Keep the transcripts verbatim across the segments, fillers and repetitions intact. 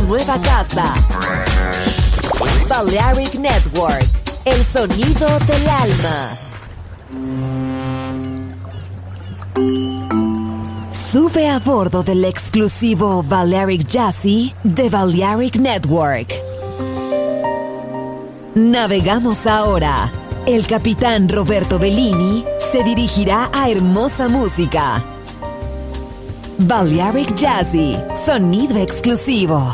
nueva casa. Balearic Network, el sonido del alma. Sube a bordo del exclusivo Balearic Jazzy de Balearic Network. Navegamos ahora. El capitán Roberto Bellini se dirigirá a hermosa música. Balearic Jazzy, sonido exclusivo.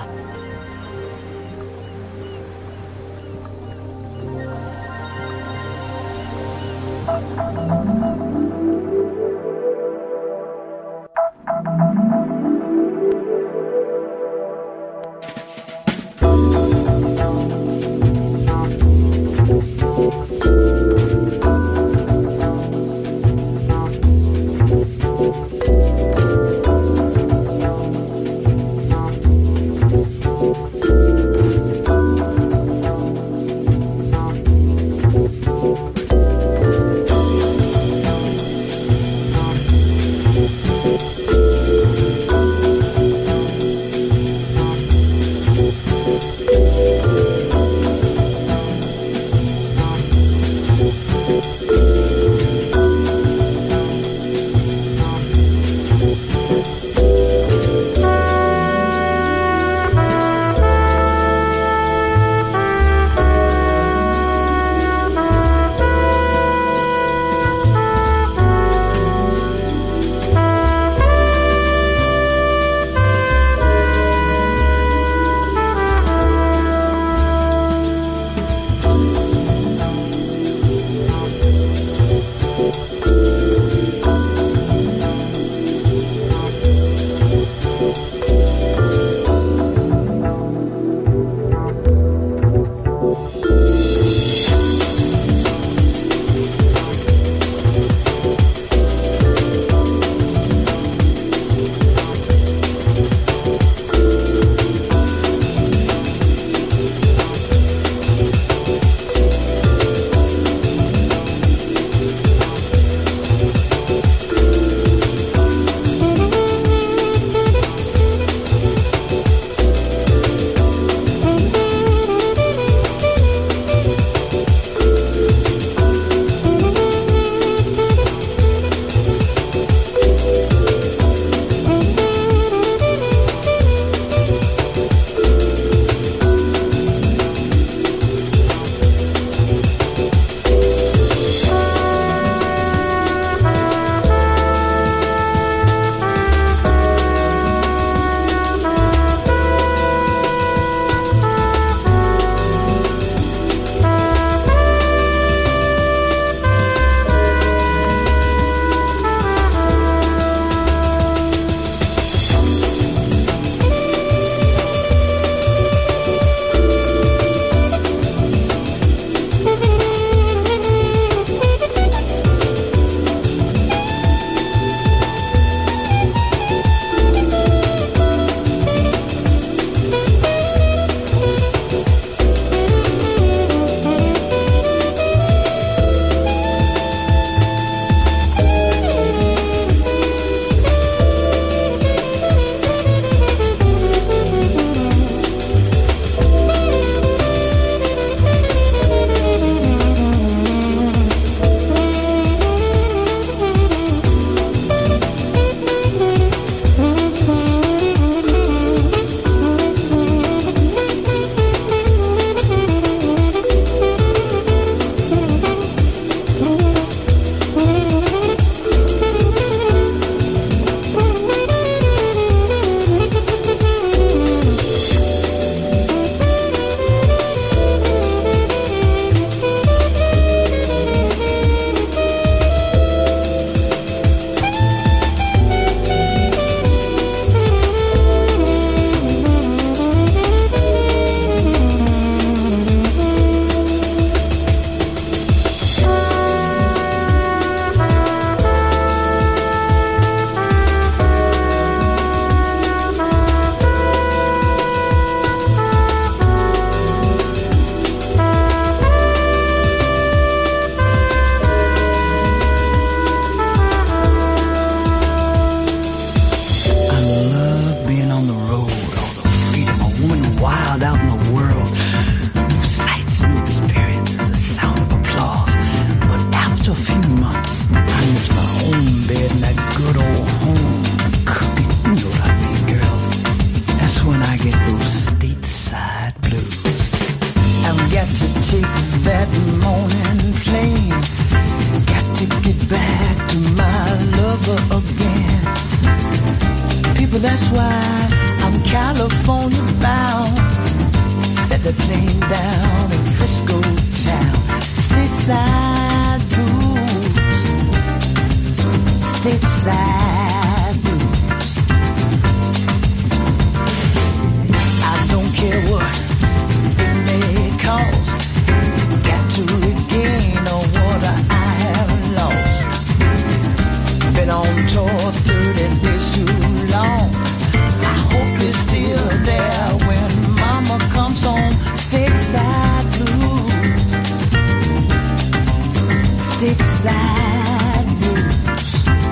that's why I'm California bound. Set the plane down in Frisco town. Stateside blues. Stateside blues. I don't care what it may cost. Got to regain what I have lost. Been on tour thirty days too long. I hope you're still there when mama comes home. Stateside blues. Stateside blues.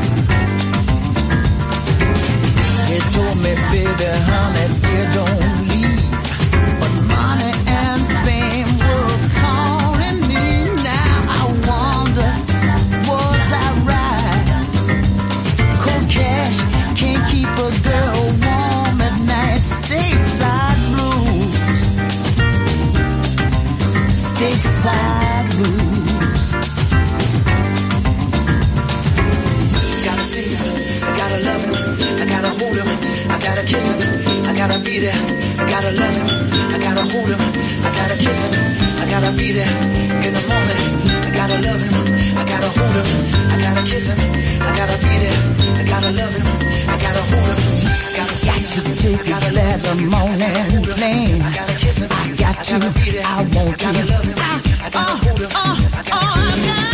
They told me, baby, honey, dear, don't leave. But money and fame were calling me. Now I wonder, was I right? Cold cash can't keep a girl warm at night. Stateside blues. Stateside blues. Gotta see him, I gotta love him, I gotta hold him, I gotta kiss him, I gotta be there, I gotta love him, I gotta hold him, I gotta kiss him, I gotta be there in the morning, I gotta love him, I gotta hold him, I gotta kiss him, I gotta be there, I gotta love him, I gotta hold him, I gotta got to take it that the morning plane. I gotta kiss him, I got to, I want to, I gotta love him, I gotta hold him, I gotta be there.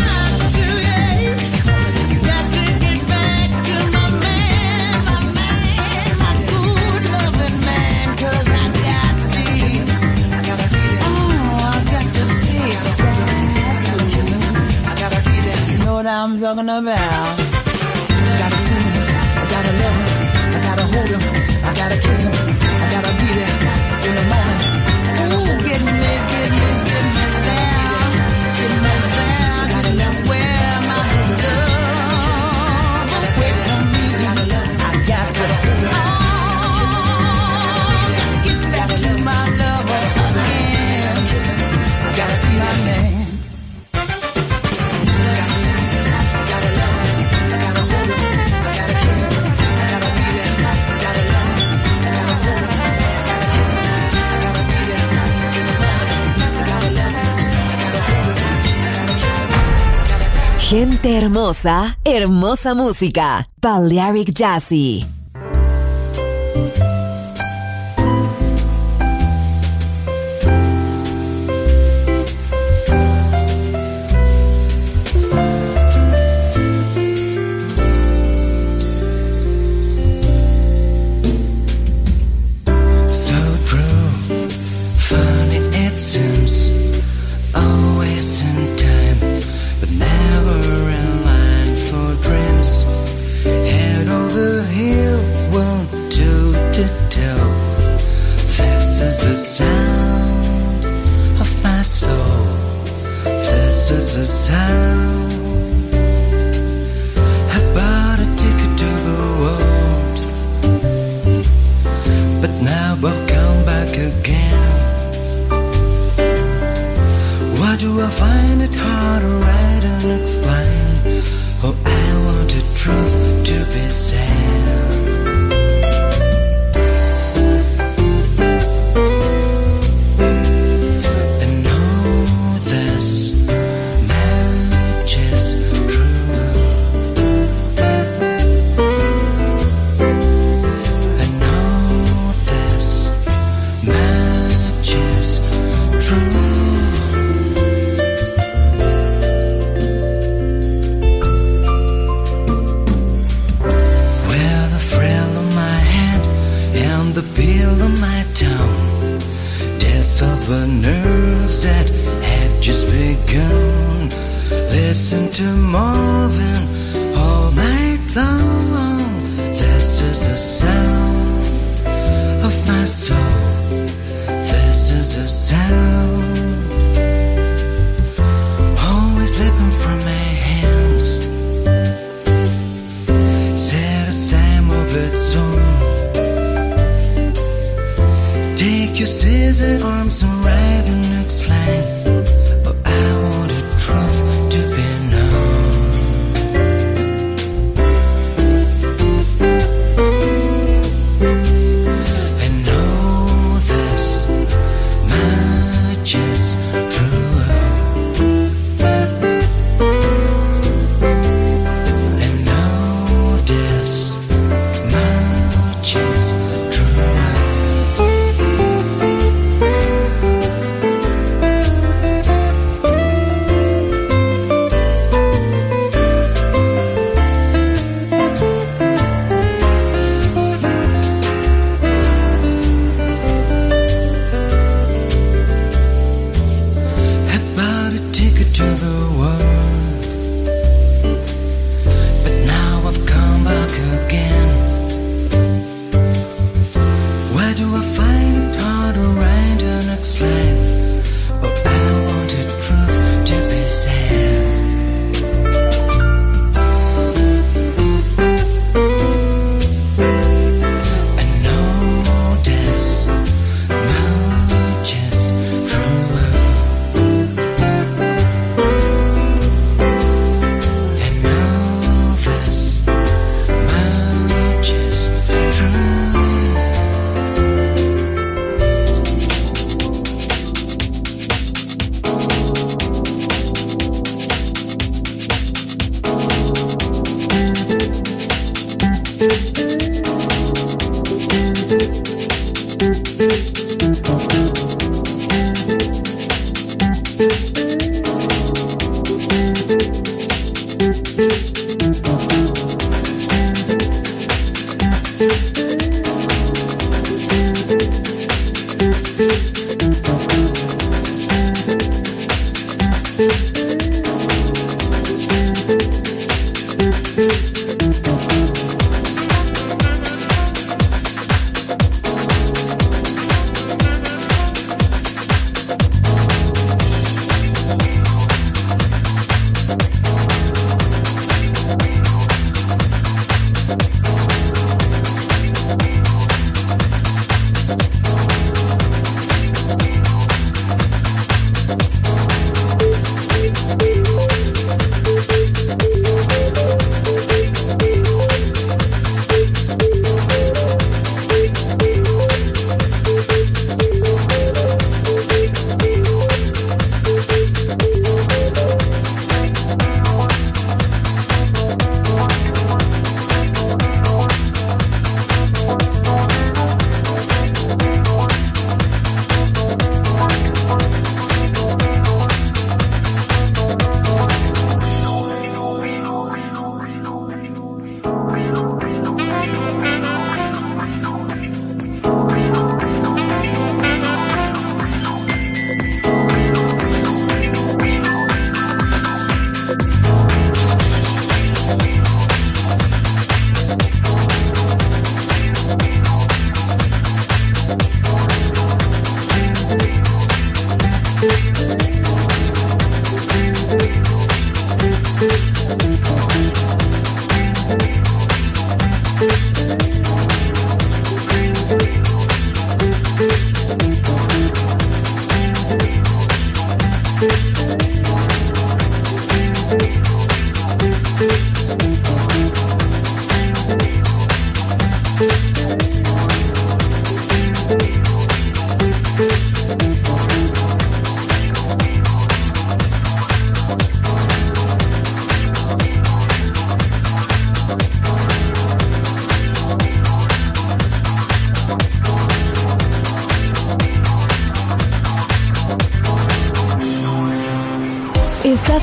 I'm talking about. Gotta see him, I gotta love him, I gotta hold him, I gotta kiss him, I gotta be there in the morning. Ooh, get me, get me, get me there, get me there, gotta love where my love away from me. I got to, oh, to get back to my love again. I gotta see my man. Gente hermosa, hermosa música. Balearic Jazzy.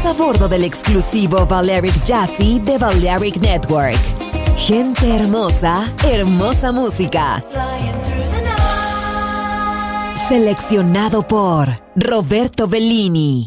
a bordo del exclusivo Balearic Jazzy de Balearic Network. Gente hermosa, hermosa música. Seleccionado por Roberto Bellini.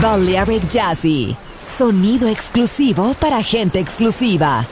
Balearic Jazzy. Sonido exclusivo para gente exclusiva.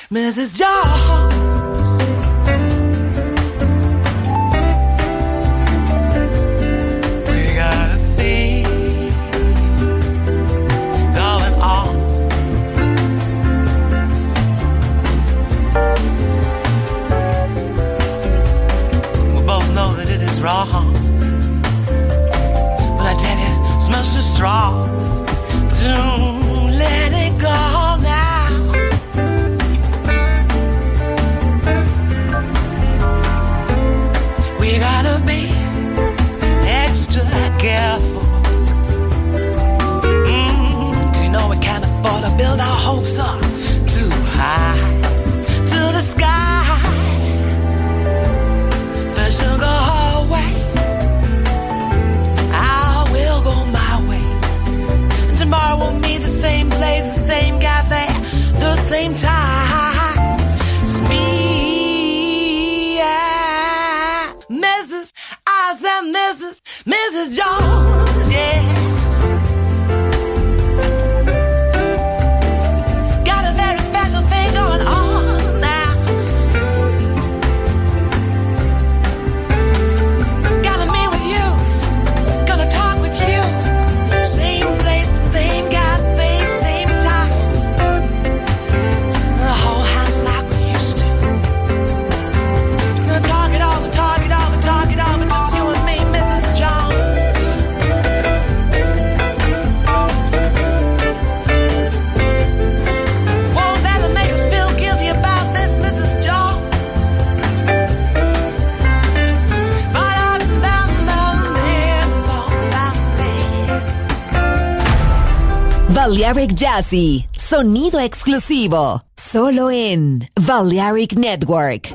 Missus Jones. We got a thing going on. We both know that it is wrong, but I tell you, it smells so strong. Don't let it go now. We gotta be extra careful. Mm, 'cause you know we can't afford to build our hopes up too high to the sky. First you'll go her way, I will go my way. And tomorrow we'll meet the same place, the same cafe, the same time. It's me, yeah. Missus I said Missus Missus Jones, yeah. Got a very special thing going on now. Gotta meet with you, gonna talk with you. Same place, same cafe, same time. The whole house like we used to. Gonna talk it over, talk it over, talk it over. Just you and me, Missus Jones. Won't that make us feel guilty about this, Missus Jones? Balearic Jazzy, sonido exclusivo, solo en Balearic Network.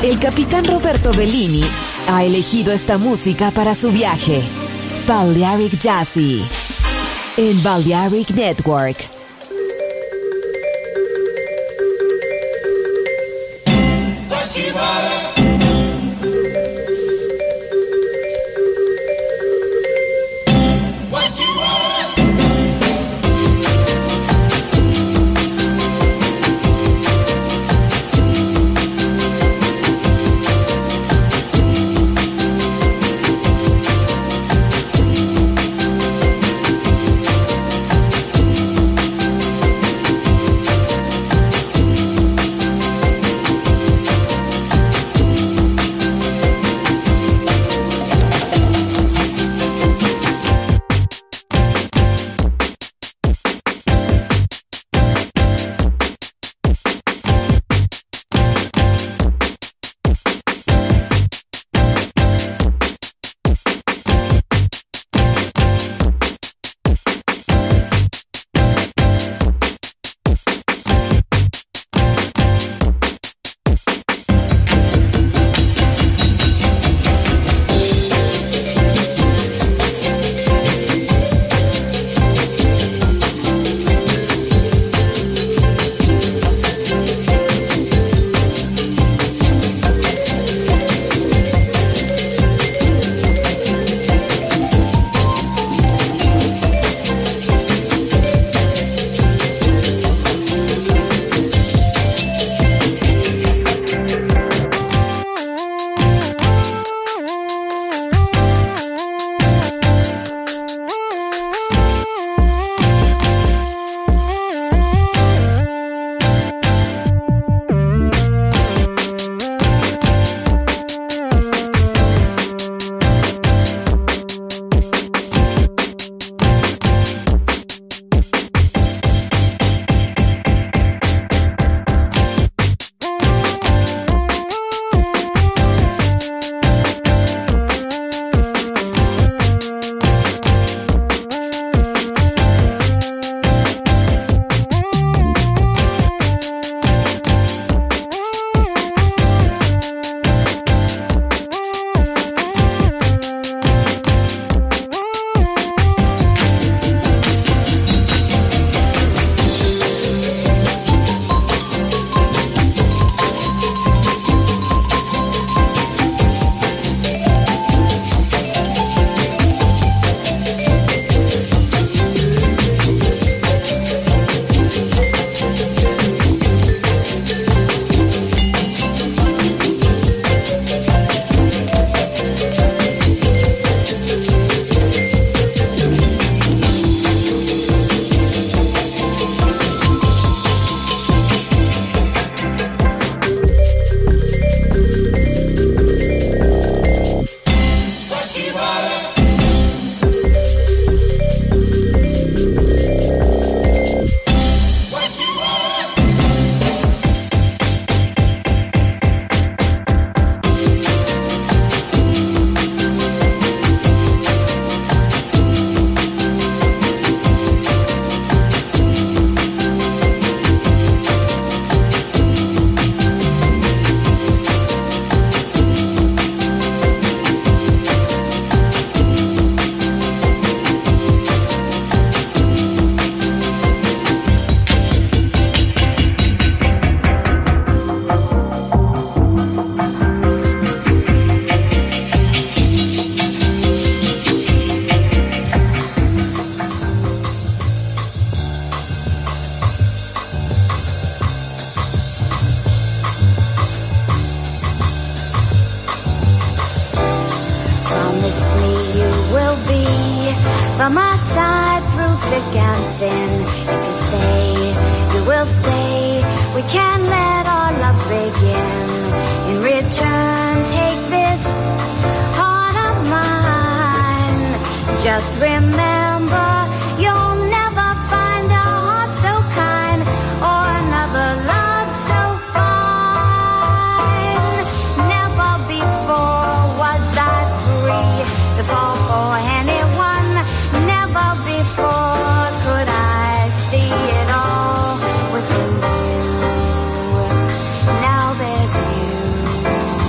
El capitán Roberto Bellini ha elegido esta música para su viaje. Balearic Jazzy en Balearic Network. by my side through thick and thin. If you say you will stay, we can let our love begin. In return, take this heart of mine. Just remember, you'll never find a heart so kind or another love so fine. Never before was I free to fall for anyone. Never before could I see it all within you. Now there's you.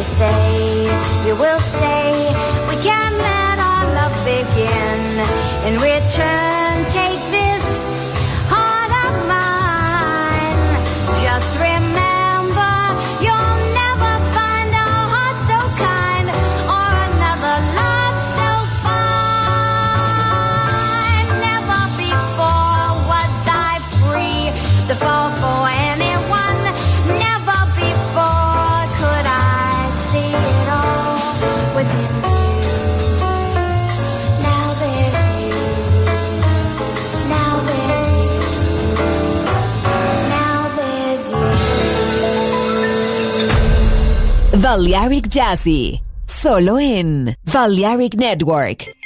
you say you will stay, we can let our love begin. In return, take this heart of mine. Just remember, you'll never find a heart so kind or another love so fine. Never before was I free to fall for anyone. Never before could I see it all within you. Now there's you. Now there's you. Now there's you. Balearic Jazzy, solo en Balearic Network.